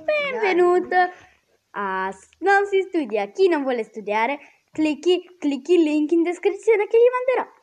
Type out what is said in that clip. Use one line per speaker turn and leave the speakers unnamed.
Benvenuto a Non si studia. Chi non vuole studiare, clicchi il link in descrizione che gli manderò.